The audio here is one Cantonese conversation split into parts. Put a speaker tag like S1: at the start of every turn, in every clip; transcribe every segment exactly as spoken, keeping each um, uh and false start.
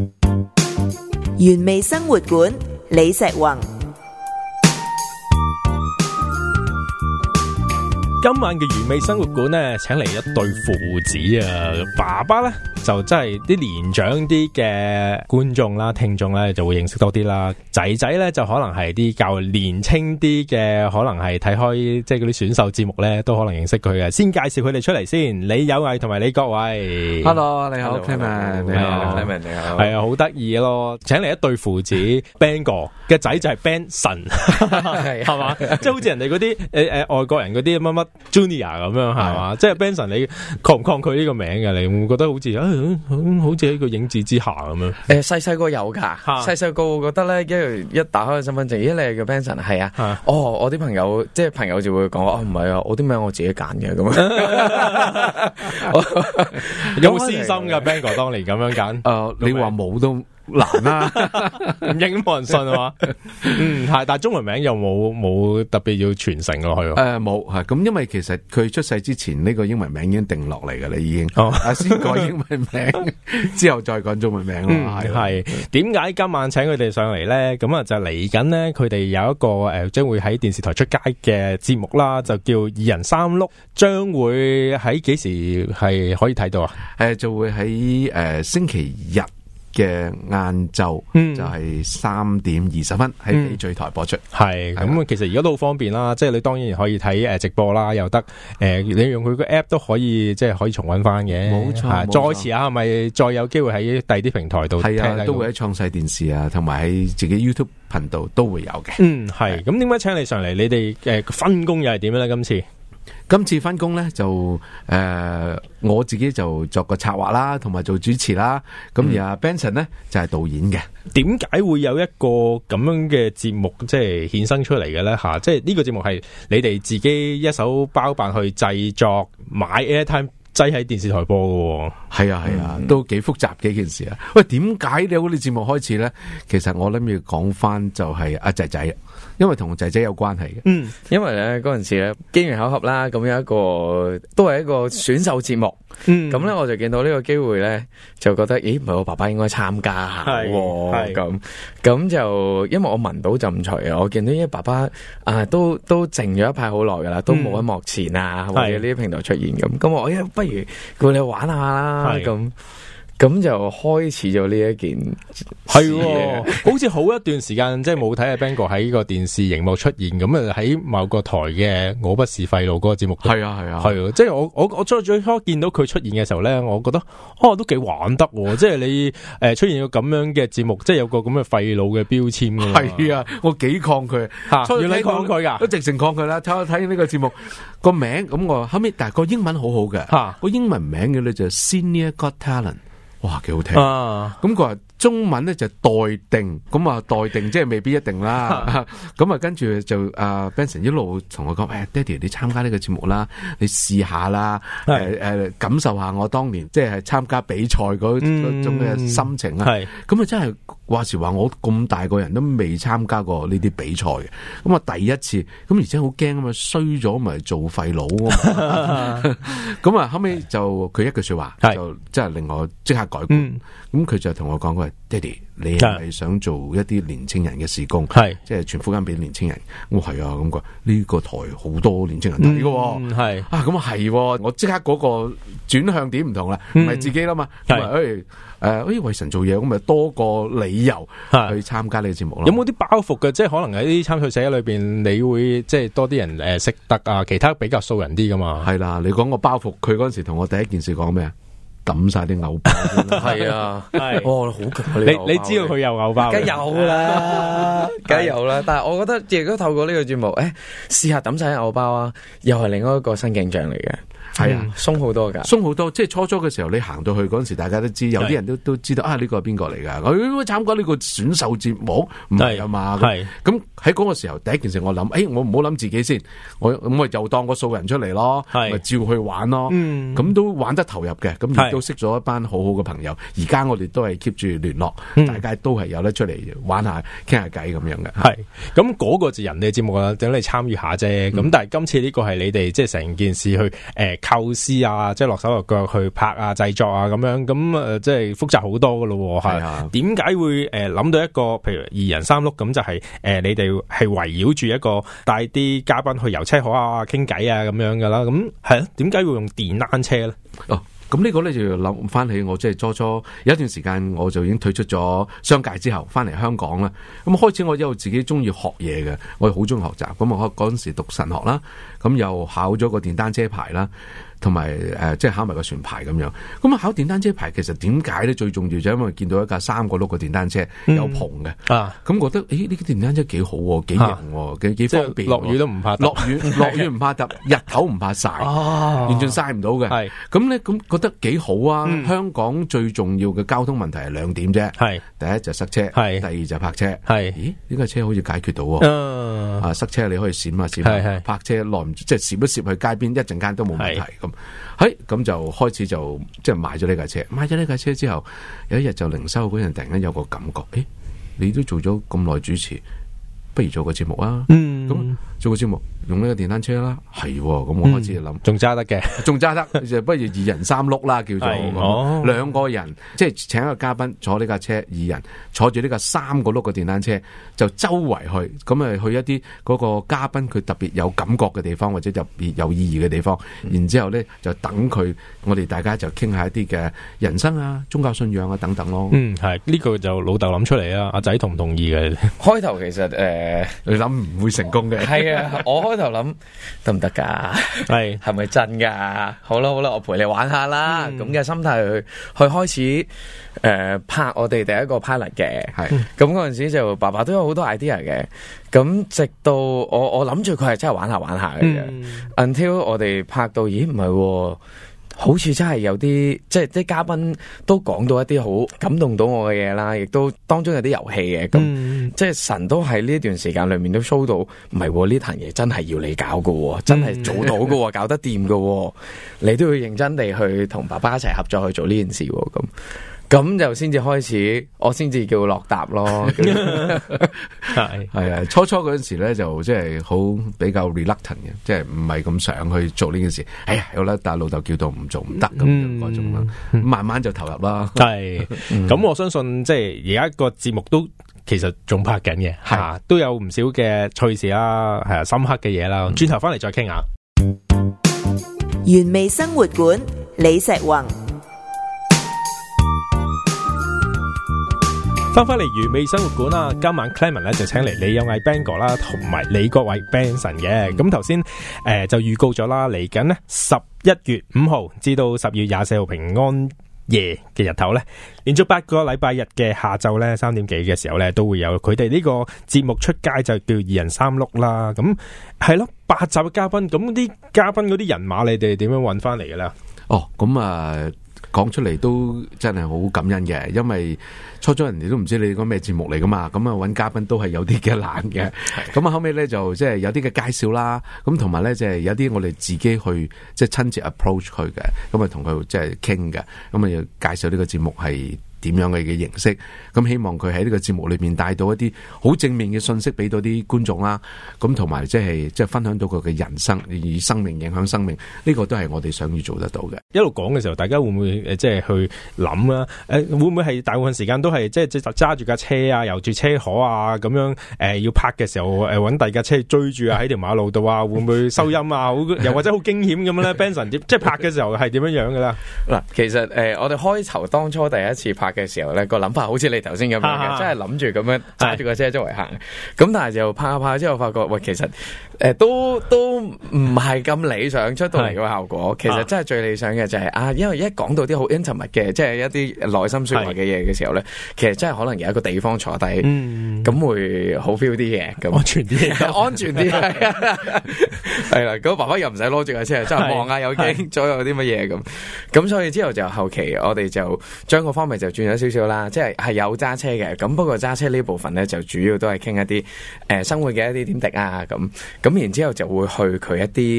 S1: 原味生活館李石宏。
S2: 今晚嘅原味生活館咧，請嚟一對父子啊！爸爸咧就真係啲年長啲嘅觀眾啦、聽眾咧就會認識多啲啦。仔仔咧就可能係啲較年輕啲嘅，可能係睇開即係嗰啲選秀節目咧，都可能認識佢嘅。先介紹佢哋出嚟先，李有毅同埋李國偉。
S3: Hello， 你好 Clement， 你好 Clement， 你好。
S2: 係啊，好得意咯！請嚟一對父子 ，Ben 哥嘅仔就係 Ben 神，係嘛？即係好似人哋嗰啲誒誒外國人嗰啲乜乜 Junior 咁樣係嘛？即係 Benson，你抗唔抗拒呢個名嘅？你會唔會覺得好似誒、哎，好似喺個影子之下咁樣？誒，細細個有噶，細細個我覺得咧，一一打開個身份證，咦，你係叫 Benson？係啊，啊哦，我啲朋友即係朋友就會講，哦，唔係啊，我啲名我自己揀嘅咁樣。有冇私心噶 Ben 哥當年咁樣揀？誒、呃，你話冇都難啦，唔應冇人信啊嘛。嗯，係，但係中文名又冇冇特別要傳承落去。誒、
S3: 呃，冇係咁，因為其實佢出世之前呢、這個英文名已經定落嚟噶啦，已經。哦，先改英文名，之後再講中文名咯。係、嗯，點解今晚請佢哋上嚟咧？咁啊，就嚟緊咧，佢哋有一個誒，將、呃、會喺電視台出街嘅節目啦，就叫二人三碌，將會喺幾時係可以睇到啊？誒、呃，就會喺誒、呃、星期日嘅晏晝，就係三點二十分喺翡翠台播出。係咁、嗯，其實而家都好方便啦，即係你當然可以睇誒直播啦，又得誒、呃，你用佢個 app 都可以，即係可以重溫翻嘅。冇錯，再遲下係咪再有機會喺第二啲平台度？係啊，都會喺創世電視啊，同埋喺自己 YouTube 頻道都會有嘅。嗯，係。咁點解請你上嚟？你哋誒分工又係點咧？今次？今次分工咧就誒、呃，我自己就作個策劃啦，同埋做主持啦。咁、嗯、而阿 Benson 咧就係、是、導演嘅。點解會有一個咁樣嘅節目即係衍生出嚟嘅咧？吓、啊，即係呢個節目係你哋自己一手包辦去製作，買 airtime 擠喺電視台播嘅。係啊係啊，嗯、都幾複雜嘅一件事啊。喂，點解你好？呢節目開始咧？其實我諗要講翻就係阿仔仔。因為同仔仔有關係嘅，嗯，因為咧嗰陣時咧機緣巧合啦，咁有一個都係一個選秀節目，嗯，咁咧我就見到呢個機會咧，就覺得，咦，唔係我爸爸應該參加下，係咁，咁就因為我聞到陣除啊，我見到呢爸爸啊都都靜咗一排好耐噶啦，都冇喺幕前啊、嗯、或者呢啲平台出現咁，咁我誒不如叫你玩下啦，咁。咁就開始咗呢一件係，好似好一段時間即係冇睇阿 Ben 哥喺呢個電視熒幕出現，咁啊喺某個台嘅我不是廢路嗰個節目，係啊係啊，係啊，即係我我我最最初見到佢出現嘅時候咧，我覺得哦都幾玩得，即係你誒出現個咁樣嘅節目，即係有個咁嘅廢路嘅標籤㗎嘛，係啊，我幾抗拒吓，原來抗拒噶，都直情抗拒啦。睇睇呢個節目個名，咁我後尾但係個英文好好嘅，吓個英文名嘅咧就 Senior Got Talent。哇，幾好聽啊！咁佢話中文咧就待定，咁啊待定即係未必一定啦。咁啊跟住就阿 Benson 一路同我講，誒，爹哋你參加呢個節目啦，你試下啦，誒誒感受下我當年即係參加比賽嗰嗰種嘅心情啊。咁啊真係話時話我咁大個人都未參加過呢啲比賽嘅，咁啊第一次，咁而且好驚啊嘛，衰咗咪做廢佬啊嘛。咁啊後尾就佢一句說話就即係令我即刻改觀。咁佢就同我講，佢話爹哋，你係咪想做一啲年青人嘅事工？係即係傳福音俾年青人。我係啊，咁佢呢個台好多年青人睇嘅，係啊，咁啊係，我即刻嗰個轉向點唔同啦，唔係自己啦嘛，咁啊誒誒，誒為神做嘢，咁咪多個理由去參加呢個節目咯。有冇啲包袱嘅？即係可能喺啲參賽者裏邊，你會即係多啲人誒識得啊，其他比較素人啲噶嘛？係啦，你講個包袱，佢嗰陣時同我第一件事講咩啊？抌晒啲藕包，係啊，係，哦，好強！你你知道佢有藕包，梗有啦，梗有啦。但係我覺得，如果透過呢個節目，誒，試下抌晒啲藕包啊，又係另外一個新景象嚟嘅。係啊，鬆好多噶，鬆好多。即係初初嘅時候，你行到去嗰陣時，大家都知，有啲人都都知道啊，呢個係邊個嚟噶？佢參加呢個選秀節目，唔係啊嘛。係咁喺嗰個時候，第一件事我諗，誒，我唔好諗自己先，我咁咪又當個素人出嚟咯，咪照去玩咯。咁都玩得投入嘅，咁亦都識咗一班好好嘅朋友。而家我哋都係 keep 住聯絡，大家都係有得出嚟玩下、傾下偈咁樣嘅。係咁嗰個就人哋節目啦，等你參與下啫。咁但係今次呢個係你哋即係成件事去誒。
S2: 誒構思啊，即係落手落腳去拍啊、製作啊咁樣，咁誒、呃、即係複雜好多噶咯。係啊，點解會誒諗、呃、到一個譬如二人三碌咁，就係、是、誒、呃、你哋係圍繞住一個帶啲嘉賓去遊車河啊、傾偈啊咁樣噶啦？咁係啊，點解會用電單車咧？
S3: 哦。咁呢個咧就要諗翻起我即係初初有一段時間我就已經退出咗商界之後翻嚟香港啦。咁開始我一路自己中意學嘢嘅，我好中意學習。咁我嗰陣時讀神學啦，咁又考咗個電單車牌啦，同埋誒即係考埋個船牌咁樣。咁啊考電單車牌其實點解咧最重要就因為見到一架三個轆嘅電單車有篷嘅、嗯、啊，咁覺得誒呢啲電單車幾好喎，幾型喎，幾幾方便。落雨都唔怕，落雨落雨唔怕揼，日頭唔怕曬，啊、完全曬唔到嘅。係咁咧咁。覺得幾好啊、嗯！香港最重要嘅交通問題係兩點啫，係第一就塞車，係第二就泊車。係咦？呢架車好似解決到喎、嗯，啊塞車你可以閃下閃下，泊車耐唔即係閃一閃去街邊，一陣間都冇問題咁。喺咁就開始就即係買咗呢架車，買咗呢架車之後，有一日就靈修嗰陣，突然間有個感覺，誒，你都做咗咁耐主持，不如做個節目啊？嗯，咁做個節目。用呢個電單車啦，係咁我開始諗，仲、嗯、揸得嘅，仲揸得，就不如二人三碌啦，叫做兩、哦、個人，即係請一個嘉賓坐呢架車，二人坐住呢架三個碌嘅電單車，就周圍去，咁啊去一啲嗰個嘉賓佢特別有感覺嘅地方，或者特別有意義嘅地方，嗯、然之後咧就等佢，我哋大家就傾下一啲嘅人生啊、宗教信仰啊等等咯。嗯，係呢、這個就老豆諗出嚟啊，阿仔同唔同意嘅？開頭其實誒、呃，你諗唔會成功嘅，係啊，我開。就諗得唔得噶？係係咪真噶？好啦好啦，我陪你玩下啦。咁、嗯、嘅心態去去開始誒、呃、拍我哋第一個 pilot 嘅。係咁嗰陣時就爸爸都有好多 idea 嘅。咁直到我我諗住佢係真係玩下玩下嘅啫。嗯、until 我哋拍到，咦唔係？好似真係有啲，即係啲嘉賓都講到一啲好感動到我嘅嘢啦，亦都當中有啲遊戲嘅，咁、嗯、即係神都喺呢一段時間裏面都 show 到，唔係呢壇嘢真係要你搞噶，真係做到噶、嗯，搞得掂噶，你都要認真地去同爸爸一齊合作去做呢件事，咁。咁就先至開始，我先至叫落搭咯。係係啊，初初嗰陣時咧就即係好比較 reluctant 嘅，即係唔係咁想去做呢件事。哎呀，有啦，但係老豆叫到唔做唔得咁樣嗰種啦。慢慢就投入啦。係，咁、嗯、我相信即係而家個節目都其實仲拍緊嘅，係、啊、都有唔少嘅趣事啦，係啊，深刻嘅嘢啦。轉頭翻嚟再傾下。
S1: 原味生活館，李石宏。
S2: 翻返嚟原味生活館啦，今晚 Clement 咧就請嚟李有毅 Bang 哥啦，同埋李國偉 Benson 嘅。咁頭先誒就預告咗啦，嚟緊呢十一月五號至到十月廿四號平安夜嘅日頭咧，連續八個禮拜日嘅下晝咧三點幾嘅時候咧，都會有佢哋呢個節目出街，就叫二人三碌啦。咁係咯，八集嘅嘉賓，咁啲嘉賓嗰啲人馬，你哋點樣揾翻嚟嘅咧？哦，咁啊。講出嚟都真係好感恩嘅，因為初初人哋都唔知你個咩節目嚟噶嘛，咁啊揾嘉賓都係有啲嘅難嘅，咁啊後尾咧就即係有啲嘅介紹啦，咁同埋咧即係有啲我哋自己去即係親自 approach 佢嘅，咁啊同佢即係傾嘅，咁啊要介紹呢個節目係點樣嘅嘅形式，咁希望佢喺呢個節目裏面帶到一啲好正面嘅信息俾到啲觀眾啦，咁同埋即係即係分享到佢嘅人生，以生命影響生命，呢個都係我哋想要做得到嘅。一路講嘅時候，大家會唔會誒即係去諗啊？誒會唔會係大部分時間都係即係即係揸住架車啊，遊住車河啊咁樣誒要拍嘅時候誒揾第二架車追住啊喺條馬路度啊，會唔會收音啊？好又或者好驚險咁樣咧？Benson 點即係拍嘅時候係點樣樣嘅啦？嗱，其實誒我哋開頭當初第一次拍嘅時候咧，個諗法好似你頭先咁樣嘅，真係諗住咁樣揸住個車周圍行。咁但係就拍下拍之後發覺，喂，其實誒、呃、都都唔係咁理想出到嚟個效果。其實真係最理想嘅就係、是、啊，因為一講到啲好 intimate 嘅，即係一啲內心說話嘅嘢嘅時候咧，其實真係可能有一個地方坐低，咁、嗯、會好 feel 啲嘅，咁安全啲，安全啲係啊，係啦。咁爸爸又唔使攞住架車，真係望下有驚左右有啲乜嘢咁。咁所以之後就後期我哋就將個方面就轉咗少少啦，即係係有揸車嘅。咁不過揸車呢部分咧就主要都係傾一啲誒、呃、生活嘅一啲點滴啊，咁咁然之後就會去佢一啲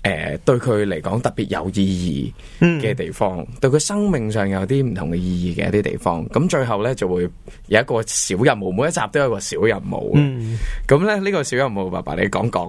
S4: 誒對佢嚟講特別有意義嘅地方，嗯、對佢生命上有啲唔同嘅意義嘅一啲地方。咁最後咧就會有一個小任務，每一集都有一個小任務。咁咧呢個小任務，爸爸你講講。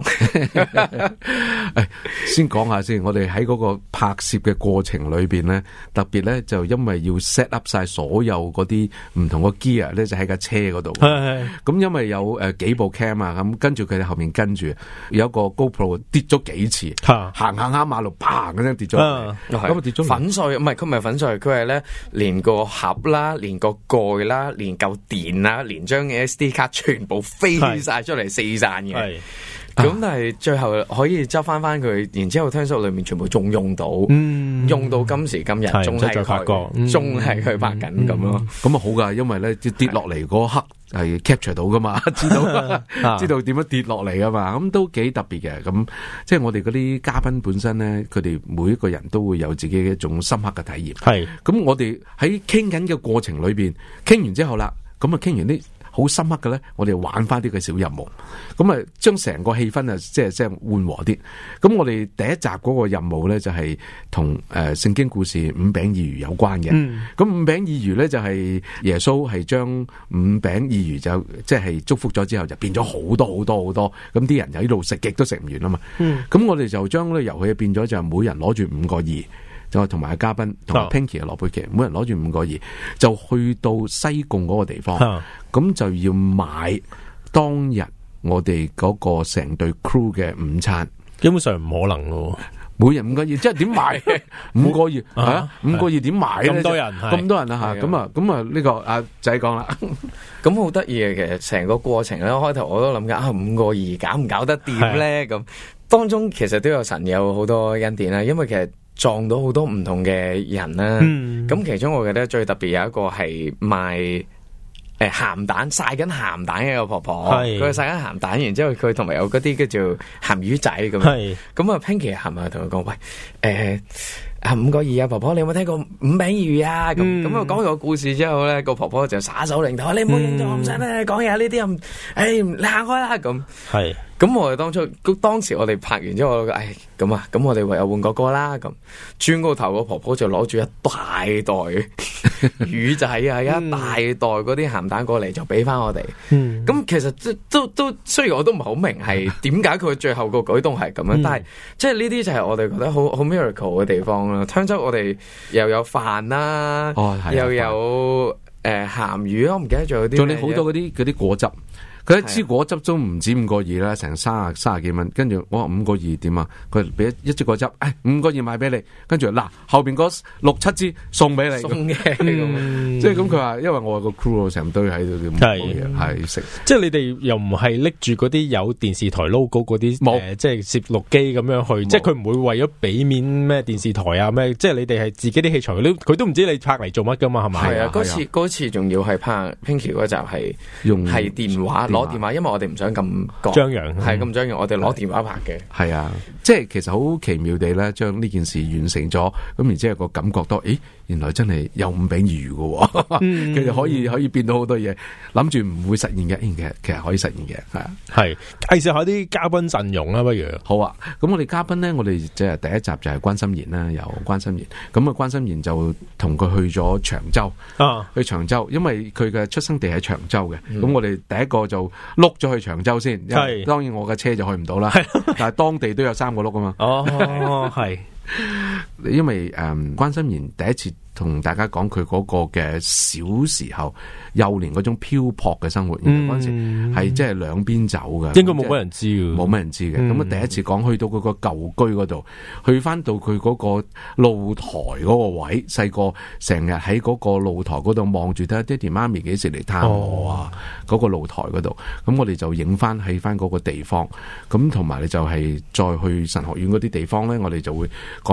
S3: 先講下先，我哋喺嗰個拍攝嘅過程裏邊咧，特別咧就因為要 set up 晒所有嗰啲唔同嘅 gear 咧，就喺架車嗰度。咁因為有誒、呃、幾部 cam 啊，咁跟住佢哋後面跟住有一個 GoPro 跌咗幾次，行行下馬路，砰嗰聲跌咗，咁啊跌咗
S4: 粉碎，唔係佢唔係粉碎，佢係咧連個盒啦，連個蓋啦，連嚿電啦，連張 S D 卡全部飛晒出嚟四散嘅。咁但係最後可以執翻翻佢，然之後聽說裏面全部仲用到，嗯、用到今時今日，仲係佢，仲係佢拍緊咁咯。
S3: 咁啊好噶，因為咧跌落嚟嗰刻係 capture 到噶嘛，知道知道點樣跌落嚟噶嘛，咁都幾特別嘅。咁即係我哋嗰啲嘉賓本身咧，佢哋每一個人都會有自己嘅一種深刻嘅體驗。係咁，我哋喺傾緊嘅過程裏邊，傾完之後啦，咁啊傾完啲好深刻嘅咧，我哋玩翻啲嘅小任務，咁啊將成個氣氛啊，即係即係緩和啲。咁我哋第一集嗰個任務咧，就係同誒聖經故事五餅二魚有關嘅。咁、嗯、五餅二魚咧就係、是、耶穌係將五餅二魚就即係、就是、祝福咗之後，就變咗好多好多好多。咁啲人就喺度食極都食唔完啊嘛。咁、嗯、我哋就將呢個遊戲變咗，就每人攞住五個二。就同埋嘉賓同埋 Pinky 嘅羅貝奇，每人攞住五個二，就去到西貢嗰個地方，咁、啊、就要買當日我哋嗰個成隊 crew 嘅午餐。
S2: 基本上唔可能咯，
S3: 每人五個二，即係點買？五個二係啊，五個二點買咧？咁多人，咁多人啊吓，咁啊，咁啊，呢個阿仔講啦，
S4: 咁好得意嘅，其實成個過程咧，開頭我都諗緊啊，五個二搞唔搞得掂咧？咁當中其實都有神有好多恩典啦，因為其實。撞到好多唔同嘅人啦，咁、嗯、其中我覺得最特別有一個係賣誒鹹蛋曬緊鹹蛋嘅一個婆婆，佢係曬緊鹹蛋，然之後佢同埋有嗰啲叫做鹹魚仔咁，咁啊 Pinky 係咪同佢講喂誒？呃啊五個二啊，婆婆你有冇聽過五餅二魚啊？咁咁啊講完個故事之後咧，個婆婆就耍手擰頭，你唔好認咗我唔使咩講嘢呢啲咁，誒你行開啦咁。係，咁我哋當初，當時我哋拍完之後，我誒咁啊，咁我哋唯有換個歌啦。咁轉個頭，個婆婆就攞住一大袋魚仔啊，一大袋嗰啲鹹蛋過嚟，就俾翻我哋。咁、嗯、其實都都都，雖然我都唔係好明係點解佢最後個舉動係咁樣，嗯、但係即係呢啲就係我哋覺得好好 miracle 嘅地方。聽咗我哋又有飯啦，哦啊、又有誒鹹魚咯，我唔記得仲有啲，仲有好多嗰啲嗰啲果汁。佢一支果汁都唔止五個二啦，成三十三十幾蚊。跟住我話五個二點啊？佢俾一支果汁，誒五個二買俾你。跟住嗱後邊嗰六七支送俾你。送嘅，即係咁佢話，因為我個 crew 成堆喺度咁嘢係食。即係你哋又唔係拎住嗰啲有電視台 logo 嗰啲誒，即係攝錄機咁樣去。即係佢唔會為咗俾面咩電視台啊咩？即係你哋係自己啲器材，佢都唔知你拍嚟做乜噶嘛？係咪？係啊，嗰次嗰次仲要係拍 Pinky 嗰集係用係電話。攞電話，因為我哋唔想咁張揚，係咁張揚，我哋攞電話拍嘅。係啊，即係其實好奇妙地咧，將呢件事完成咗，咁然之後個感覺到，誒，原來真係有五餅二魚嘅，其實可以可以變到好多嘢，諗住唔會實現嘅，其實其實可以實現嘅，係啊。係介紹下啲嘉賓陣容啦，不如好啊。咁我哋嘉賓咧，我哋即係第一集就係關心妍啦，由關心妍。咁啊，關心妍就同佢去咗長洲啊，去長洲，因為佢嘅出生地喺長洲嘅。咁、嗯、我哋第一個就碌咗去長洲先，係當然我嘅車就去唔到啦，但係當地都有三個碌啊嘛。哦，係，因為誒、嗯、關心妍第一次同大家講佢嗰個嘅小時候幼年嗰種漂泊嘅生活，嗰陣時係即係兩邊走嘅，應該冇乜人知嘅，冇乜人知嘅。咁啊，第一次講去到嗰個舊居嗰度，去翻到佢嗰個露台嗰個位，細個成日喺嗰個露台嗰度望住睇下爹哋媽咪幾時嚟探我啊！嗰、哦、個露台嗰度，咁我哋就影翻喺翻嗰個地方，咁同埋你就係再去神學院嗰啲地方咧，我哋就會講翻佢哋對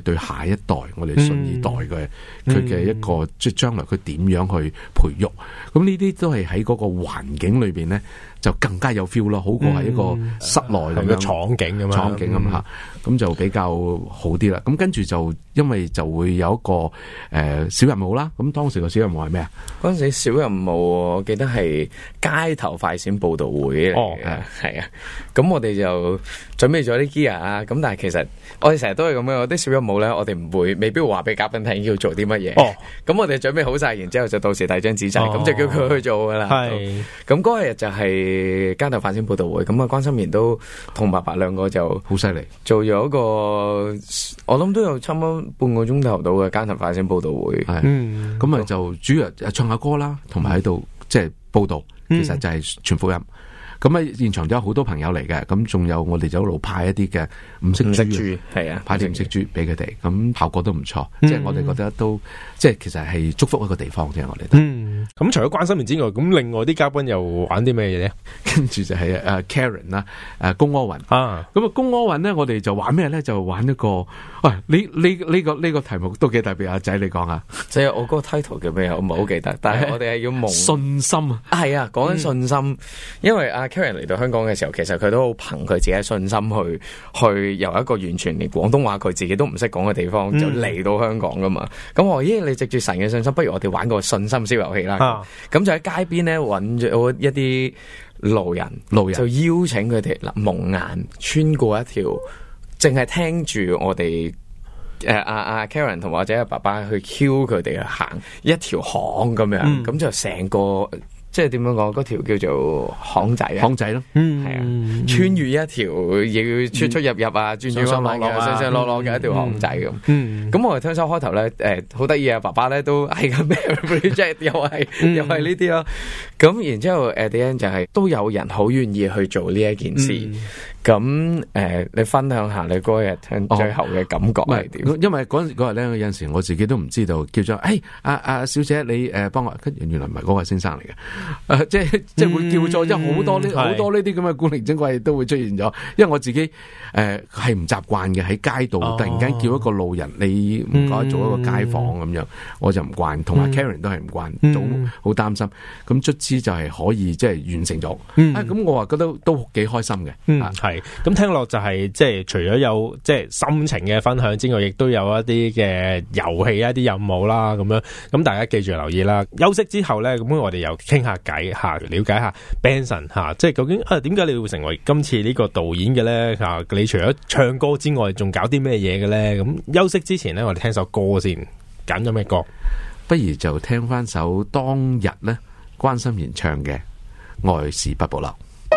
S3: 對下一代，我哋信二代嘅佢嘅一個即係將來佢點樣去培育，咁呢啲都係喺嗰個環境裏邊咧，就更加有 feel 咯，好過係一個室內咁樣
S2: 場景咁樣，
S3: 場景咁吓，咁就比較好啲啦。咁跟住就因為就會有一個誒、呃、小任務啦。咁當時個小任務係咩啊？
S4: 嗰陣時小任務我記得係街頭快閃報道會嚟嘅，係啊。咁我哋就準備咗啲 gear 啊。咁但係其實我哋成日都係咁樣，啲小任務咧，我哋唔會未必會話俾嘉賓聽要做啲乜嘢。哦，咁我哋準備好晒，然之後就到時遞張紙仔，咁、哦、就叫佢去做噶啦。係，咁嗰日就係街頭快閃報道會。咁啊，關心妍都同白白兩個就
S3: 好犀利，
S4: 做咗一個我諗都有差唔多半個鐘頭到嘅街頭快閃報道會。係，
S3: 咁啊、嗯、就主要唱下歌啦，同埋喺度即係報道，其實就係傳福音。咁喺現場都有好多朋友嚟嘅，咁仲有我哋就一路派一啲嘅五色豬，係啊，派啲五色豬俾佢哋，咁效果都唔錯，嗯、即係我哋覺得都即係其實係祝福一個地方啫，我哋。嗯，
S2: 咁除咗關心妍之外，咁另外啲嘉賓又玩啲咩嘢咧？
S3: 跟住就係誒 Karen 啦，誒龔柯允啊，咁啊龔柯允咧，我哋就玩咩咧？就玩一個，喂，呢呢呢個呢、這個題目都幾特別，阿仔你講下。
S4: 即係我嗰個 title 叫咩？我唔係好記得，但係我哋係要蒙
S3: 信心啊，
S4: 係啊，講緊信心，嗯、因為阿 Karen 嚟到香港嘅時候，其實佢都好憑佢自己嘅信心去去由一個完全連廣東話佢自己都唔識講嘅地方，嗯、就嚟到香港噶嘛。咁我咦，你藉住神嘅信心，不如我哋玩個信心小遊戲啦。咁、啊、就喺街邊咧揾咗一啲路人，路人就邀請佢哋嗱蒙眼穿過一條，淨係聽住我哋誒阿阿 Karen 同或者阿爸爸去 cue 佢哋去行一條巷咁樣，咁、嗯、就成個。即係點樣講？嗰條叫做巷仔啊，
S3: 巷仔咯，
S4: 嗯，係啊，穿越一條要出出入入啊，轉轉彎彎嘅，上上落落嘅一條巷仔咁。嗯，咁我哋聽首開頭咧，誒，好得意啊！爸爸咧都係咁咩 project，又係又係呢啲咯。咁然之後誒，點樣就係都有人好願意去做呢一件事。咁誒，你分享下你嗰日聽最後嘅感覺係點？
S3: 因為嗰嗰日咧，有陣時我自己都唔知道，叫做誒，阿阿小姐你誒幫我，原來唔係嗰個先生嚟嘅。誒、呃，即係即係會叫做，即係好多呢好多呢啲咁嘅古靈精怪都會出現咗。因為我自己誒係唔習慣嘅，喺街度突然間叫一個路人，哦、你唔該做一個街坊咁樣，嗯、我就唔慣。同埋 Karen 都係唔慣，嗯、都好擔心。咁卒之就係可以即係完成咗。咁、嗯啊、我話覺得都幾開心嘅。
S2: 嗯，係。咁聽落就係即係除咗有即係心情嘅分享之外，亦都有一啲嘅遊戲一啲任務啦，咁樣。咁大家記住留意啦。休息之後咧，咁我哋又傾下偈下，了解下 Benson 吓，即係究竟啊點解你會成為今次呢個導演嘅咧？吓，你除咗唱歌之外，仲搞啲咩嘢嘅咧？咁休息之前咧，我哋聽首歌先，揀咗咩歌？
S3: 不如就聽翻首當日咧關心妍唱嘅《愛是不保留》。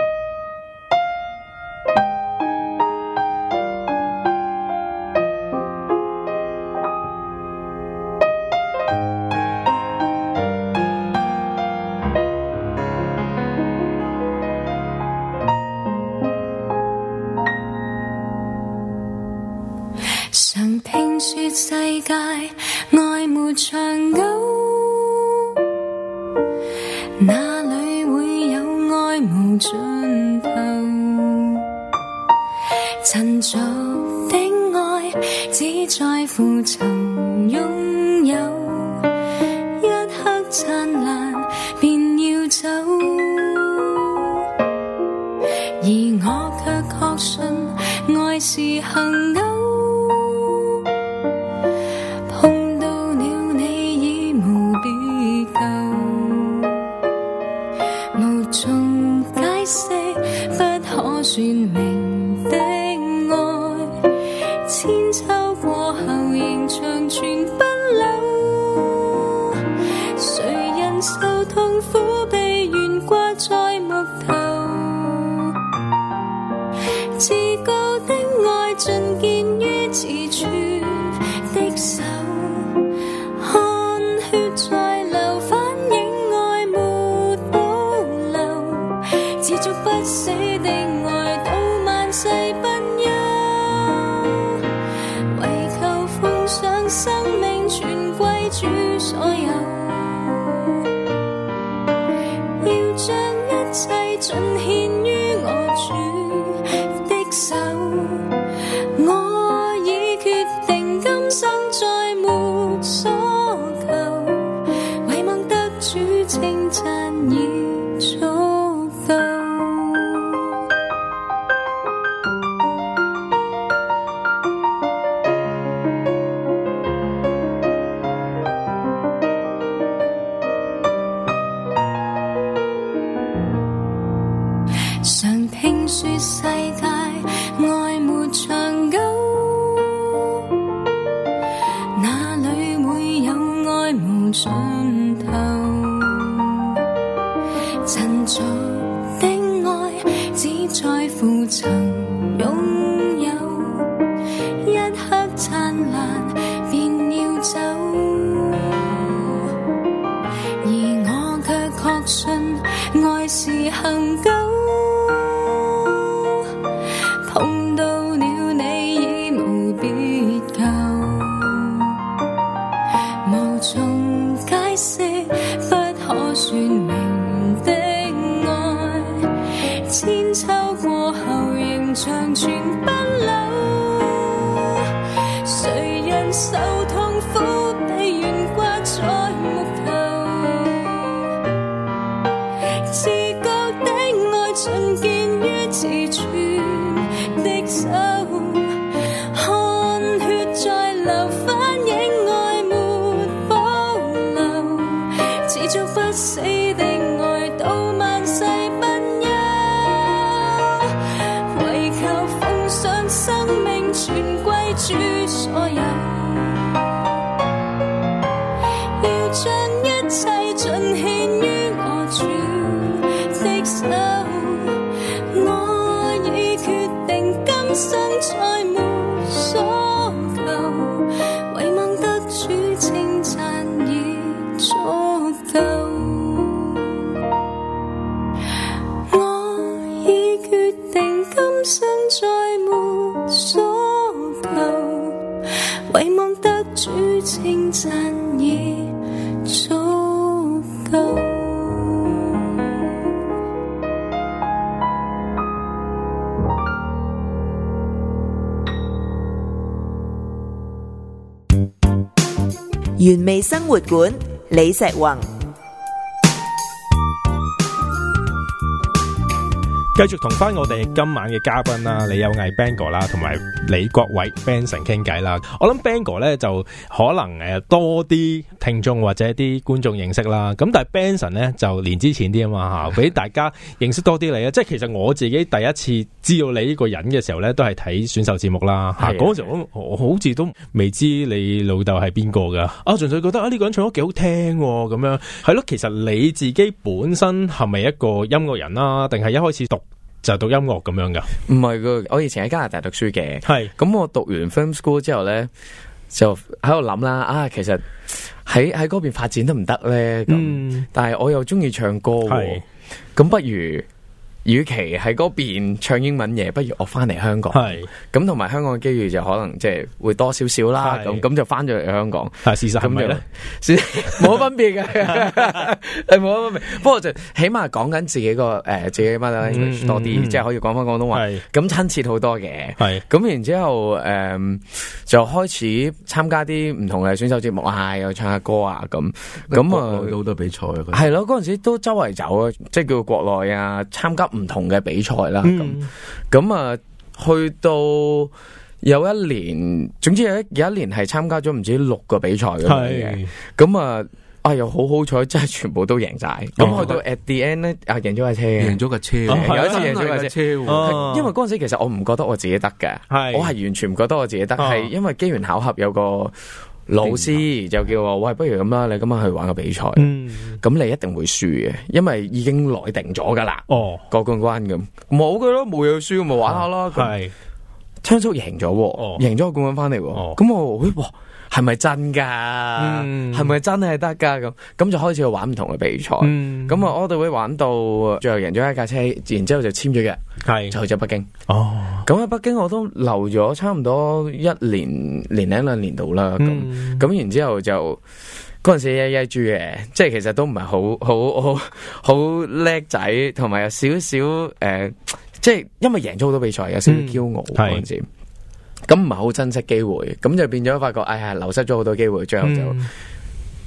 S5: 常聽說世界愛沒長久，哪裏會有愛無盡頭？塵俗的愛只在乎曾擁有，一刻燦爛便要走，而我卻確信愛是恆久。算明的愛，千秋過後仍長存不朽。誰人受痛苦被懸掛在木頭？至高的愛盡見於自處的手，汗血在流，反映愛沒保留，持續不死的愛。誓不休，為求奉上生命全歸主所有，要將一切盡獻於我主的手。我已決定今稱讚已足夠。常聽說世界愛沒長久，哪裏會有愛無盡頭？塵俗的愛只在乎曾擁有，一刻燦爛便要走，而我卻確信愛是恆久。碰到了你已無別救，無從解釋不可說明的愛，千秋過後仍長存不朽。誰人受痛苦被懸掛在木頭，自覺的愛盡見於自處的手，汗血在流，反映愛沒保留，持續不死的愛到萬世不休，唯求奉上生命全歸主所有，要將一切盡獻於我主的手。今生再沒所求，唯望得主稱讚已足夠。我已決定今生再沒所求，唯望得主稱讚已足夠。
S1: 原味生活館李石宏，
S2: 繼續同翻我哋今晚嘅嘉賓啦，李有毅 Bang 哥啦，同埋李國偉 Benson 傾偈啦。我諗 Bang 哥咧就可能誒多啲聽眾或者啲觀眾認識啦，咁但係 Benson 咧就年資淺啲啊嘛吓，俾大家認識多啲你啊。即係其實我自己第一次知道你呢個人嘅時候咧，都係睇選秀節目啦吓。嗰時候我好似都未知你老豆係邊個噶，啊純粹覺得啊呢個人唱得幾好聽咁樣，係咯。其實你自己本身係咪一個音樂人啦，定係一開始讀就讀音樂咁樣噶？
S4: 唔係噶，我以前喺加拿大讀書嘅，係咁我讀完 film school 之後咧，就喺度諗啦，啊其實喺喺嗰邊發展得唔得咧？咁、嗯、但係我又中意唱歌，咁不如。與其喺嗰邊唱英文嘢，不如我翻嚟香港。係咁，同埋香港嘅機遇就可能即係會多少少啦。咁咁就翻咗嚟香港。係事實係咪咧？冇乜分別嘅，係冇乜分別。不過就起碼講緊自己個誒、呃、自己 mother language 多啲，嗯嗯、即係可以講翻廣東話。咁親切好多嘅。係咁，然之後誒、呃、就開始參加啲唔同嘅選秀節目啊，又唱下歌啊咁。咁啊，好多比賽啊。係咯，嗰陣時都周圍走啊，即係叫國內啊，參加唔同嘅比賽啦，咁咁啊，去到有一年，總之有一有一年係參加咗唔知六個比賽咁樣嘅，咁啊啊又好好彩，真係全部都贏晒。咁、哦、去到 at the end 咧，啊贏咗架車，贏咗架車，有一次贏咗架車，因為嗰陣時其實我唔覺得我自己得嘅，我係完全唔覺得我自己得，係、哦、因為機緣巧合有個老師就叫我，喂，不如咁啦，你今晚去玩個比賽，咁、嗯、你一定會輸嘅，因為已經內定咗噶啦，哦，個冠軍咁，冇嘅咯，冇嘢輸，咪玩下咯，係，昌叔贏咗，贏咗個冠軍翻嚟，咁、哦、我，哇，係咪真噶？係、嗯、咪真係得噶？咁咁就開始去玩唔同嘅比賽，咁、嗯、啊，我哋會玩到最後贏咗一架車，然之後就簽咗約，係就去咗北京。哦，咁喺北京我都留咗差唔多一年年零兩年度啦。咁咁、嗯、然之後就嗰陣時曳曳豬嘅，即係其實都唔係好好好好叻仔，同埋有少少誒，即係因為贏咗好多比賽，有少少驕傲嗰陣時。嗯咁唔係好珍惜機會，咁就變咗發覺，哎呀，流失咗好多機會，最後就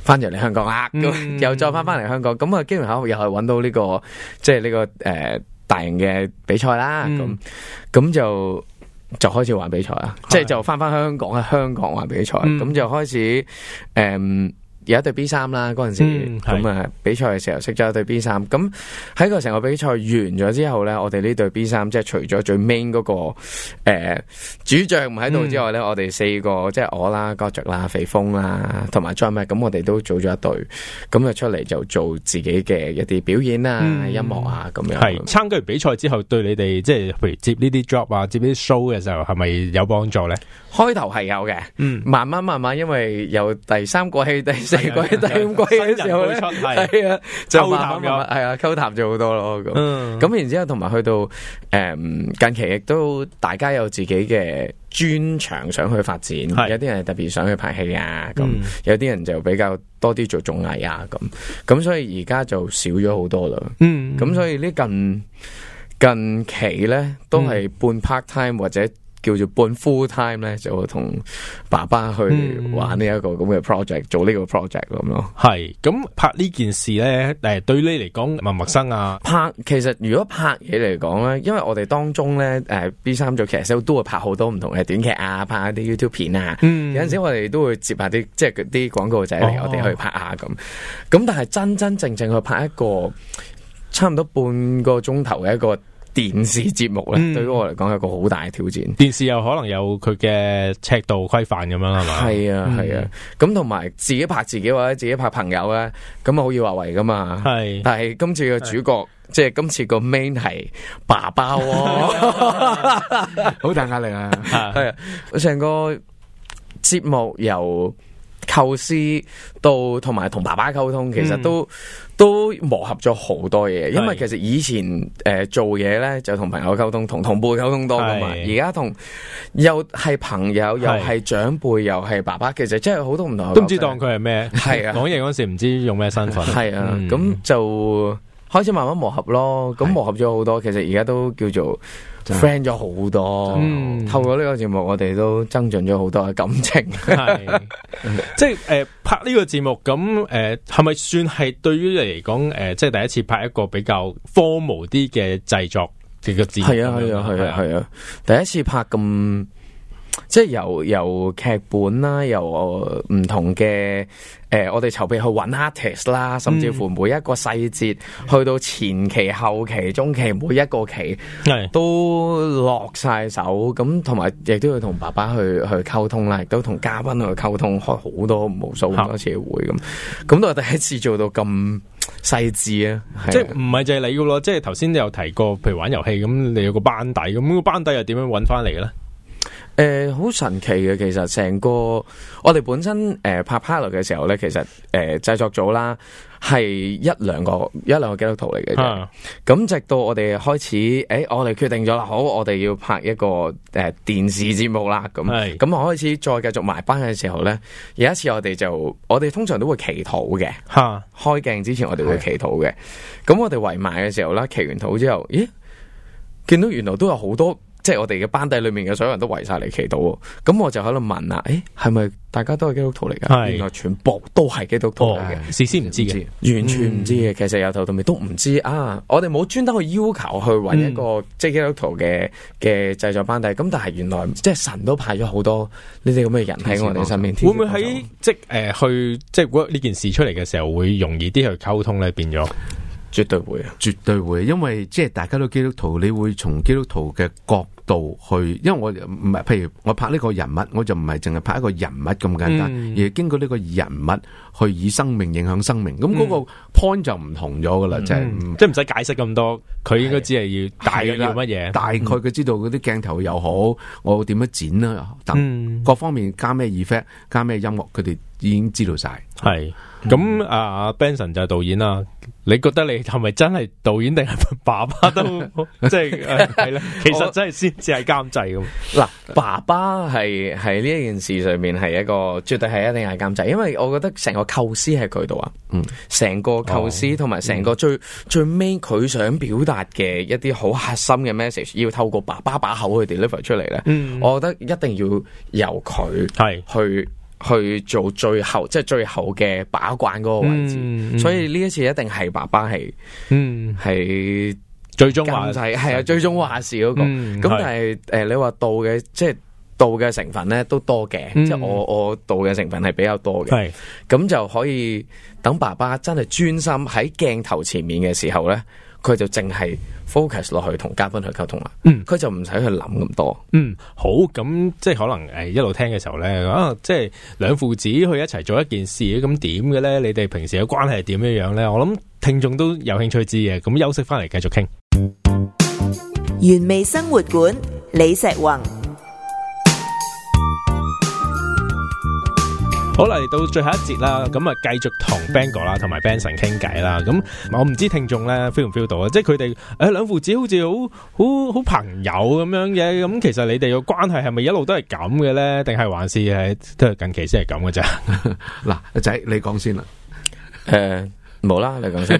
S4: 翻咗嚟香港啦，咁、嗯、又再翻翻嚟香港，咁啊機緣巧合又係揾到呢、這個即係呢個誒、呃、大型嘅比賽啦，咁咁、嗯、就就開始玩比賽啦，即係就翻翻香港喺香港玩比賽，咁、嗯、就開始誒。呃有一隊 B 三啦，嗰陣時咁啊、嗯、比賽嘅時候識咗一隊 B 三，咁喺個成個比賽完咗之後咧，我哋呢隊 B 三即係除咗最 main 嗰、那個誒、呃、主將唔喺度之外咧，嗯、我哋四個即係我啦、Godric 啦、肥峰啦，同埋 John Mac，咁我哋都組咗一隊，咁就出嚟就做自己嘅一啲表演啊、嗯、音樂啊咁樣。係參加完比賽之後，對你哋即係譬如接呢啲 job 啊、接呢啲 show 嘅時候，係咪有幫助咧？開頭係有嘅，嗯，慢慢慢慢，因為由第三個戲第四季、第五季嘅時候咧，係啊，就慢慢慢慢係啊，溝談咗好多咯。咁，咁、嗯、然之後同埋去到誒、嗯、近期亦都大家有自己嘅專長想去發展，有啲人特別想去拍戲啊，咁、嗯、有啲人就比較多啲做綜藝啊，咁咁所以而家就少咗好多啦。嗯，咁所以呢近近期咧都係半 part time 或者叫做半 full time 咧，就同爸爸去玩呢一個咁嘅 project，做呢個 project 咁咯。係咁拍呢件事咧，誒對你嚟講陌唔陌生啊？拍其實如果拍嘢嚟講咧，因為我哋當中咧誒 B 三做劇社都會拍好多唔同嘅短劇啊，拍一啲 YouTube 片啊。嗯、有陣時我哋都會接下啲即係啲廣告仔嚟，哦、我哋去拍下咁。咁但係真真正正去拍一個差唔多半個鐘頭嘅一個電視節目咧，嗯、對於我嚟講係一個好大嘅挑戰。電視又可能有佢嘅尺度規範咁樣，係嘛？係啊，係、嗯、啊。咁同埋自己拍自己或者自己拍朋友咧，咁啊好易話為噶嘛。係。但係今次嘅主角，即係今次個 main 係爸爸、哦，好大壓力啊。係啊，成個節目由構思到同埋同爸爸溝通，其實都、嗯、都磨合咗好多嘢。因為其實以前誒、呃、做嘢咧就同朋友溝通，同同輩溝通多噶嘛。而家同又係朋友，又係長輩，又係爸爸，其實真係好多唔同。都唔知當佢係咩？係啊，講嘢嗰時唔知用咩身份。係啊，咁、嗯、就開始慢慢磨合咯。咁磨合咗好多，其實而家都叫做friend 咗好多，嗯、透過呢個節目，我哋都增進咗好多嘅感情。係，即係誒、呃、拍呢個節目咁誒，係咪算係對於你嚟講誒，即係第一次拍一個比較 formal 啲嘅製作嘅個節目？係啊係啊係啊係啊，第一次拍咁。即係由由劇本啦，由唔同嘅誒、呃，我哋籌備去揾 artist 啦，甚至乎每一個細節，嗯、去到前期、後期、中期，每一個期係都落晒手。咁同埋亦都要同爸爸去去溝通啦，亦都同嘉賓去溝通，開好多無數咁多次嘅會咁。咁都係第一次做到咁細緻啊！即係唔係就係你噶咯？即係頭先你有提過，譬如玩遊戲咁，你有個班底咁，個班底又點樣揾翻嚟嘅咧？誒，好、呃、神奇嘅，其實成個我哋本身誒、呃、拍 pilot 嘅時候咧，其實誒製、呃、作組啦係一兩個一兩個基督徒嚟嘅啫。咁、啊、直到我哋開始，誒、欸、我哋決定咗啦，好，我哋要拍一個誒、呃、電視節目啦。咁咁我開始再繼續埋班嘅時候咧，有一次我哋就我哋通常都會祈禱嘅。吓、啊，開鏡之前我哋會祈禱嘅。咁是我哋圍埋嘅時候咧，祈完禱之後，咦，見到原來都有好多。即係我哋嘅班底裏面嘅所有人都圍晒嚟祈禱，咁我就喺度問啦，誒，係咪大家都係基督徒嚟噶？原來全部都係基督徒嚟嘅，事先唔知嘅，完全唔知嘅。其實由頭到尾都唔知啊！我哋冇專登去要求去揾一個即係基督徒嘅嘅製作班底，咁但係原來即係神都派咗好多呢啲咁嘅人喺我哋身邊。會唔會喺即係誒去即係呢件事出嚟嘅時候會容易啲去溝通咧？變咗？絕對會啊！絕對會，因為即係大家都基督徒，你會從基督徒嘅角度去，因為我唔係，譬如我拍呢個人物，我就唔係淨係拍一個人物咁簡單，嗯、而係經過呢個人物去以生命影響生命，咁嗰、嗯、個 point 就唔同咗噶啦，嗯、就係、是、即係唔使解釋咁多，佢應該只係要大概要乜嘢，大概佢知道嗰啲鏡頭又好，我點樣剪啦，等、嗯、各方面加咩 effect， 加咩音樂，佢哋已經知道晒。係咁啊 ，Benson 就係導演啦。你覺得你係咪真係導演定係爸爸都即係係咧？其實真係先至係監製咁。嗱，爸爸係係呢一件事上面係一個絕對係一定係監製，因為我覺得成個構思係佢度啊。嗯，成個構思同埋成個最、嗯、最尾佢想表達嘅一啲好核心嘅 message，要透過爸爸把口去 deliver 出嚟咧。嗯，我覺得一定要由佢係去。 去做最後即係最後嘅把關嗰個位置，嗯嗯、所以呢一次一定係爸爸係，嗯係最終話係係啊最終話事嗰、那個。咁、嗯、但係誒、呃、你話道嘅即係道嘅成分咧都多嘅，嗯、即係我我道嘅成分係比較多嘅。係咁是就可以等爸爸真係專心喺鏡頭前面嘅時候咧，佢就淨係 focus 落去同嘉賓去溝通啦。嗯，佢就唔使去諗咁多。嗯，好，咁即係可能誒一路聽嘅時候咧，啊，即係兩父子去一齊做一件事，咁點嘅咧？你哋平時嘅關係係點樣樣咧？我諗聽眾都有興趣知嘅。咁休息翻嚟繼續傾。
S1: 原味生活館，李石宏。
S2: 好啦，嚟到最後一節啦，咁啊繼續同 Ben 哥啦，同埋 Benson 傾偈啦。咁我唔知聽眾咧 feel 唔 feel 到啊？即係佢哋誒兩父子好似好好好朋友咁樣嘅。咁其實你哋嘅關係係咪一路都係咁嘅咧？定係還是係都係近期先係咁嘅咋？
S3: 嗱，阿仔你講先啦。
S4: 誒，冇啦，你講先。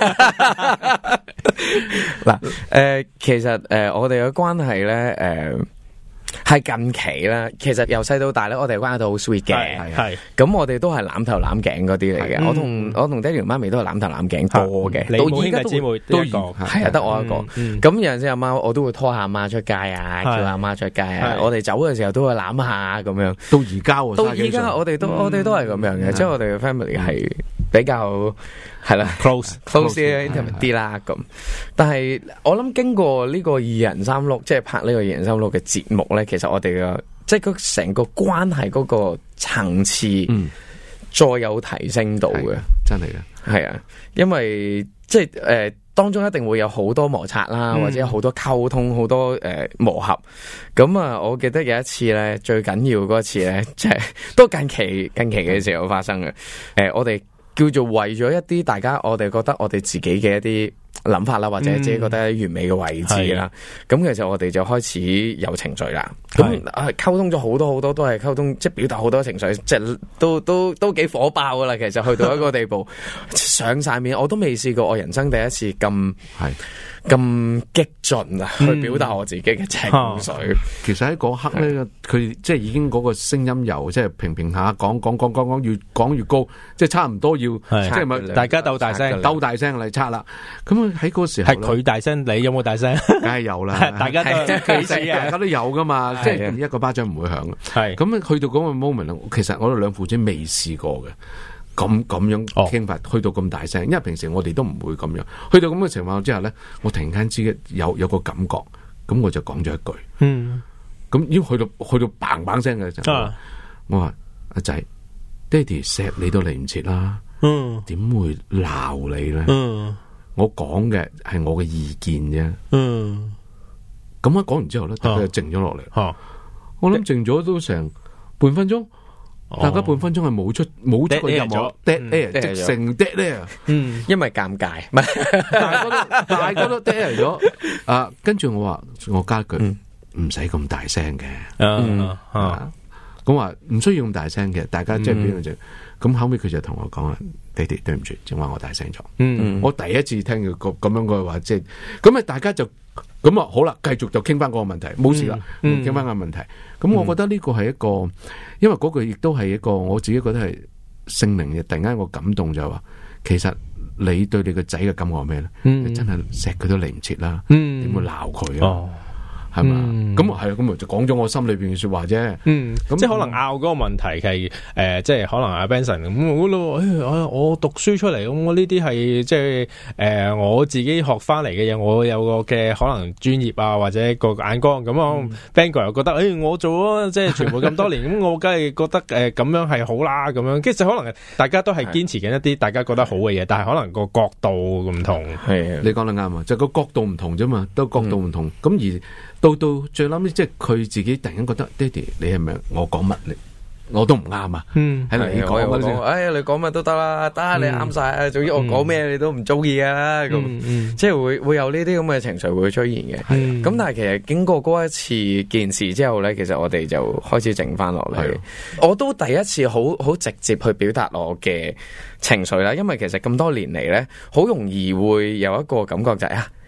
S4: 嗱，誒，其實誒、呃，我哋嘅關係咧，誒、呃。係近期啦，其實由細到大咧，我哋關係都好 sweet 嘅，係咁我哋都係攬頭攬頸嗰啲嚟嘅。我同我同爹哋同媽咪都係攬頭攬頸多嘅。你冇兄弟姊妹都係啊，得我一個。咁有陣時阿媽我都會拖下阿媽出街啊，叫阿媽出街啊。我哋走嘅時候都會攬下咁樣。到而家，到而家我哋都我哋都係咁樣嘅，即係我哋嘅 family 係比較係啦 close close 啲 intimate 啲啦咁。但係我諗經過呢個二人三碌，即係拍呢個二人三碌嘅節目咧。其實我哋嘅即係佢成個關係嗰個層次，嗯，再有提升到嘅，
S3: 真係嘅，
S4: 係啊，因為即係誒、呃、當中一定會有好多摩擦啦，嗯、或者有好多溝通，好多誒、呃、磨合。咁啊，我記得有一次咧，最緊要嗰一次咧，即係都近期近期嘅時候發生嘅。誒、呃，我哋叫做為咗一啲大家，我哋覺得我哋自己嘅一啲諗法啦，或者自己覺得完美嘅位置啦，咁、嗯、其實我哋就開始有情緒啦。咁啊溝通咗好多好多，都係溝通，即係表達好多情緒，即係都都都幾火爆噶啦。其實去到一個地步，上晒面，我都未試過我人生第一次咁係咁激進啊，去表達我自己嘅情緒。嗯、
S3: 其實喺嗰刻咧，佢是即係已經嗰個聲音由即係平平下講講講講講越講越高，即係差唔多要是即係咪
S2: 大家鬥大聲
S3: 鬥大聲嚟拆啦。咁喺嗰時候
S2: 係佢大聲，你有冇大聲？
S3: 梗係有啦，
S2: 大家都幾時啊？
S3: 大家都有噶嘛，即係一個巴掌唔會響。係咁去到嗰個 moment，其實我哋兩父子未試過嘅，咁咁樣傾法，去到咁大聲，因為平時我哋都唔會咁樣。去到咁嘅情況之下咧，我突然間知有有個感覺，咁我就講咗一句，嗯，咁已經去到去到嘭嘭聲嘅時候，我話阿仔，爹哋錫你都嚟唔切啦，嗯，點會鬧你咧？嗯。我講嘅係我嘅意見啫，嗯，咁樣講完之後咧，大家就靜咗落嚟，啊、我諗靜咗都成半分鐘，哦、大家半分鐘係冇出冇出過任何 dead air，直成 dead air，嗯，
S4: 因為尷尬，唔係
S3: 大家都大家都 dead air 咗，啊，跟住我話我加句唔使咁大聲嘅，嗯啊，咁話唔需要咁大聲嘅，大家即係邊樣就。咁後尾佢就同我講啦，爹哋對唔住，正話我大聲咗。嗯，我第一次聽佢個咁樣嘅話，即係咁啊，大家就咁啊，好啦，繼續就傾翻嗰個問題，冇事啦，傾翻個問題。咁、嗯、我覺得呢個係一個，因為嗰句亦都係一個，我自己覺得係聖靈嘅。突然間我感動就係話，其實你對你個仔嘅感覺係咩咧？嗯、你真係錫佢都嚟唔切啦，點、嗯、會鬧佢啊？哦係嘛？咁啊係啊，咁咪就講咗我心裏邊嘅說話啫。嗯，咁即係可能拗嗰個問題係誒，即係可能阿 Benson 咁我咯，誒，我讀書出嚟咁，我呢啲係即係誒，我自己學翻嚟嘅嘢，我有個嘅可能專業啊，或者個眼光咁啊。Ben 哥又覺得誒，我做咗即係全部咁多年，咁我梗係覺得誒咁樣係好啦，咁樣。其實可能大家都係堅持緊一啲大家覺得好嘅嘢，但係可能個角度唔同。係，你講得啱啊，就個角度唔同啫嘛，都角度唔同。咁而到到最諗，即係佢自己突然間覺得，爹哋你係咪我講乜你我都唔啱啊？嗯，係你講乜先？哎呀，你講乜都得啦，得你啱晒啊！總之我講咩你都唔中意啊！咁，即係會會有呢啲咁嘅情緒會出現嘅。咁但係其實經過嗰一次件事之後咧，其實我哋就開始靜翻落嚟。我都第一次好好直接去表達我嘅情緒啦，因為其實咁多年嚟咧，好容易會有一個感覺就係啊。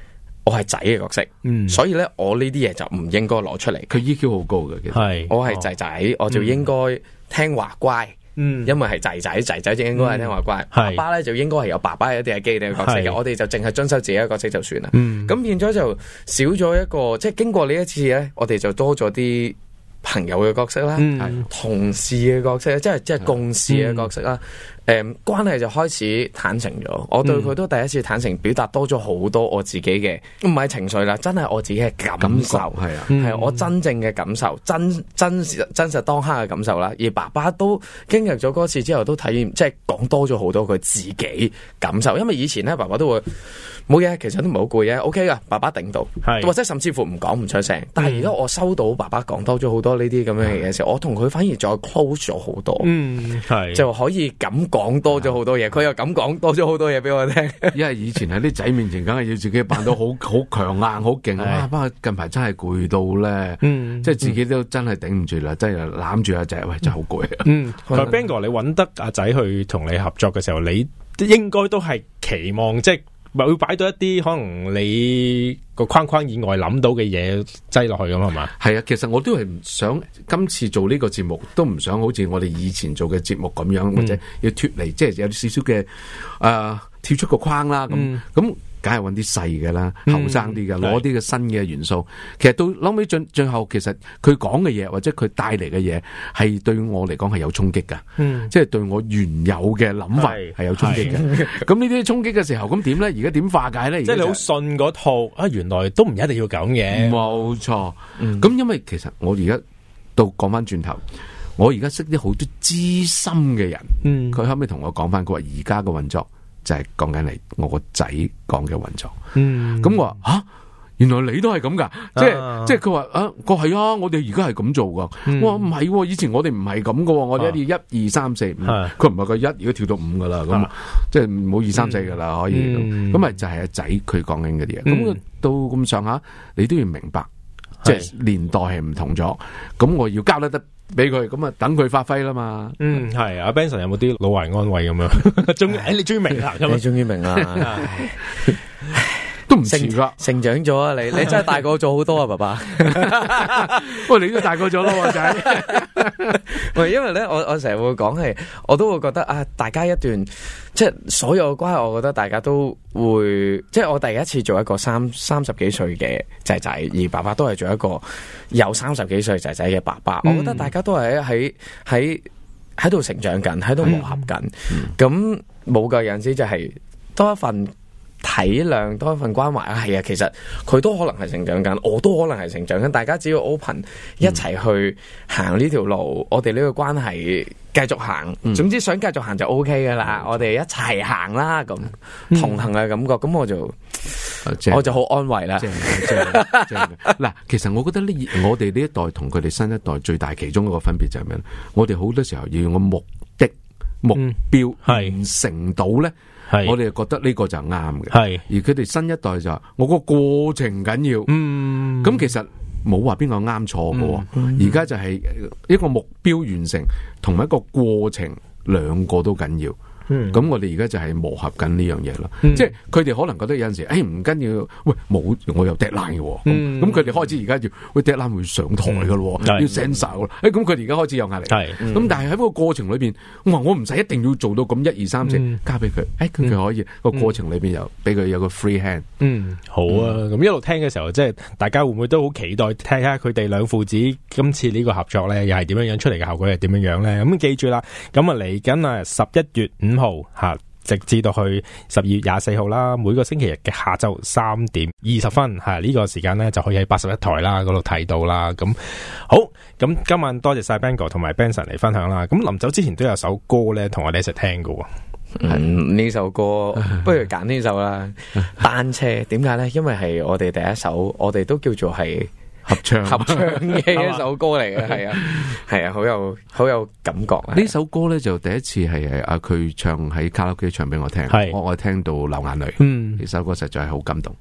S4: 我係仔嘅角色，嗯、所以咧我呢啲嘢就唔應該攞出嚟。
S3: 佢 E Q 好高嘅，其實
S2: 係
S4: 我係仔仔，哦、我就應該聽話乖。嗯，因為係仔仔，仔仔就應該係聽話乖。嗯、爸爸咧就應該係有爸爸一啲嘅基地嘅角色嘅，我哋就淨係遵守自己嘅角色就算啦。咁、嗯、變咗就少咗一個，即係經過呢一次咧，我哋就多咗啲朋友嘅角色啦，嗯、同事嘅角色，即係即係共事嘅角色啦。誒、嗯，關係就開始坦誠咗，我對佢都第一次坦誠表達多咗好多我自己嘅，唔係情緒啦，真係我自己嘅感受，係啊，係我真正嘅感受，真真實真實當刻嘅感受啦。而爸爸都經歷咗嗰次之後，都體驗即係講多咗好多佢自己感受，因為以前咧爸爸都會冇嘢，其實都唔係好攰嘅 ，OK 噶，爸爸頂到，或者甚至乎唔講唔出聲。但係而家我收到爸爸講多咗好多呢啲咁樣嘅嘢時候，我同佢反而再 close 咗好多，嗯，係就可以咁。講多咗好多嘢，佢又咁講多咗好多嘢俾我聽。因為以前喺啲仔面前，梗係要自己扮到好好強硬、好勁啊！不過近排真係攰到咧，嗯、即係自己都真係頂唔住啦，真係攬住阿仔，喂，真係好攰啊！嗯，
S2: 同埋 Ben 哥，你揾得阿仔去同你合作嘅時候，你應該都係期望即係。咪會擺到一啲可能你個框框以外諗到嘅嘢擠落去咁係嘛？
S3: 係啊，其實我都係唔想今次做呢個節目，都唔想好似我哋以前做嘅節目咁樣，嗯、或者要脫離，即係有少少嘅誒跳出個框啦。咁咁、嗯。梗係揾啲細嘅啦，後生啲嘅，攞啲嘅新嘅元素。其實到後尾最最後，其實佢講嘅嘢或者佢帶嚟嘅嘢，係對我嚟講係有衝擊噶。嗯、即係對我原有嘅諗法係有衝擊嘅。咁呢啲衝擊嘅時候，咁點咧？而家點化解咧？
S2: 即係你好信嗰套啊？原來都唔一定要咁嘅。
S3: 冇錯。咁、嗯、因為其實我而家到講翻轉頭，我而家識啲好多資深嘅人。佢、嗯、後尾同我講翻，佢話而家嘅運作。就係講緊你我個仔講嘅運作，嗯，咁我話吓，原來你都係咁噶，即係即係佢話啊，個係啊，我哋而家係咁做噶，嗯、我話唔係，以前我哋唔係咁噶，我哋一要一二三四五，佢唔係個一，而家跳到五噶啦，咁、啊、即係冇二三四噶啦，可以，咁咪、嗯、就係阿仔佢講緊嗰啲嘢，咁、嗯、到咁上下，你都要明白，即係是年代係唔同咗，咁我要交得得。俾佢咁啊，等佢發揮啦嘛。嗯，
S2: 係阿 Benson 有冇啲老懷安慰咁樣？終於，誒，你終於明啦，
S4: 你終於明啦，
S3: 都唔遲噶，
S4: 成長咗啊！你你真係大個咗好多啊，爸爸。
S3: 不過你都大個咗咯，仔。
S4: 喂，因為咧，我我成日會講係，我都會覺得啊，大家一段即係所有嘅關係，我覺得大家都會，即係我第一次做一個三三十幾歲嘅仔仔，而爸爸都係做一個有三十幾歲仔仔嘅爸爸。嗯、我覺得大家都係喺喺喺度成長緊，喺度磨合緊。咁冇嘅有陣時就係多一份體諒，多一份關懷啊，係啊，其實佢都可能係成長緊，我都可能係成長緊，大家只要 open 一齊去行呢條路，嗯、我哋呢個關係繼續行，嗯、總之想繼續行就 OK 噶啦，嗯、我哋一齊行啦，咁同行嘅感覺，咁、嗯、我就、嗯、我就好安慰啦。
S3: 嗱，其實我覺得呢，我哋呢一代同佢哋新一代最大其中一個分別就係咩咧？我哋好多時候要用個目的、目標完成到咧。是我哋就覺得呢個就啱嘅，係是而佢哋新一代就話我個過程緊要，嗯，咁其實冇話邊個啱錯嘅，而家、嗯、就係一個目標完成同埋一個過程，兩個都緊要。咁、嗯、我哋而家就係磨合緊呢樣嘢咯，嗯、即係佢哋可能覺得有陣時，誒唔緊要，喂冇我有 deadline 嘅，咁佢哋開始而家要，喂 deadline 會上台嘅咯，嗯、要 send 晒咯，誒咁佢哋而家開始有壓力，係，咁、嗯、但係喺個過程裏邊，我話我唔使一定要做到咁一二三四，交俾佢，誒佢佢可以個、嗯、過程裏邊又俾佢有個 free hand，
S2: 嗯好啊，咁、嗯、一路聽嘅時候，即係大家會唔會都好期待睇下佢哋兩父子今次呢個合作咧，又係點樣樣出嚟嘅效果係點樣樣咧？咁記住啦，咁啊嚟緊啊十一月五號吓，直至到去十二月廿四號啦，每個星期日嘅下晝三點二十分吓，呢、這個時間咧就可以喺八十一台啦嗰度睇到啦。咁好，咁今晚多謝晒 Ben 哥同埋 Benson 嚟分享啦。咁臨走之前都有首歌咧，同我哋一齊聽㗎。
S4: 嗯，呢首歌不如揀呢首啦。單車點解咧？因為係我哋第一首，我哋都叫做係。
S3: 合唱
S4: 合唱嘅一首歌嚟嘅，係啊，係啊，好有好有感覺。
S3: 呢首歌咧就第一次係阿佢唱喺卡拉 OK 唱俾我聽，是我我聽到流眼淚。嗯，呢首歌實在係好感動。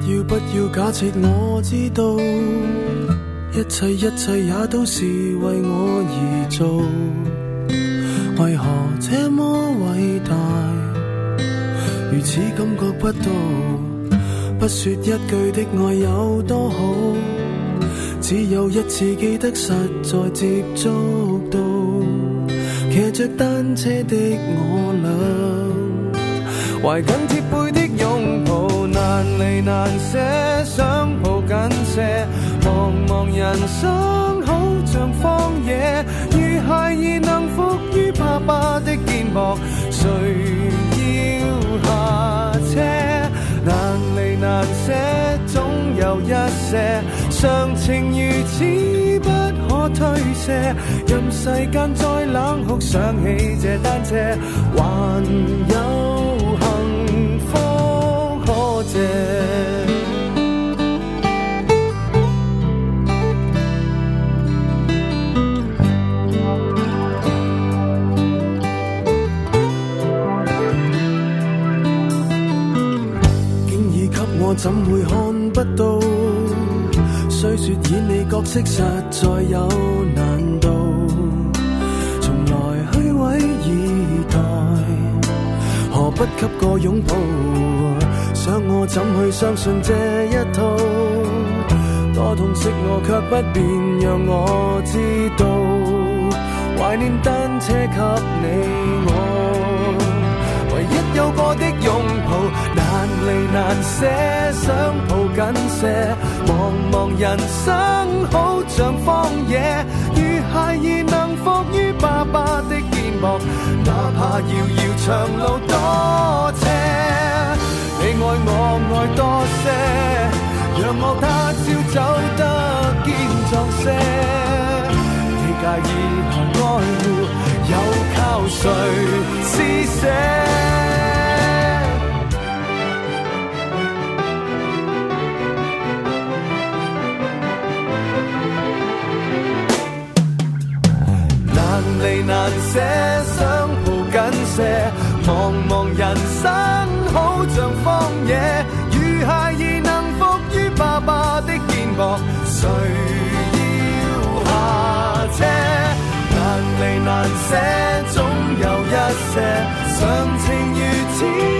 S6: 要不要假設我知道，一切一切也都是為我而做，為何這麼偉大，如此感覺不到，不說一句的愛有多好，只有一次記得實在接觸到，騎着單車的我倆，懷緊貼背的擁抱，難離難捨，想抱緊些，茫茫人生好像荒野，如孩兒能伏於爸爸的肩膊，誰要下車？難離難捨，總有一些常情如此不可推卸，任世間再冷酷，想起這單車，還有幸福可借。我怎會看不到？雖說演你角色實在有難度，從來虛偽以待，何不給個擁抱？想我怎去相信這一套？多痛惜我卻不便讓我知道，懷念單車給你我，唯一有過的擁抱。難離難捨，想抱緊些，茫茫人生好像荒野，如孩兒能伏於爸爸的肩膊，哪怕遙遙長路多斜，你愛我愛多些，讓我他朝走得堅壯些，你介意和愛護，又靠誰施捨？難離難捨，想抱緊些，茫茫人生好像荒野，如孩兒能伏於爸爸的肩膊，誰要下車？難離難捨，總有一些常情如此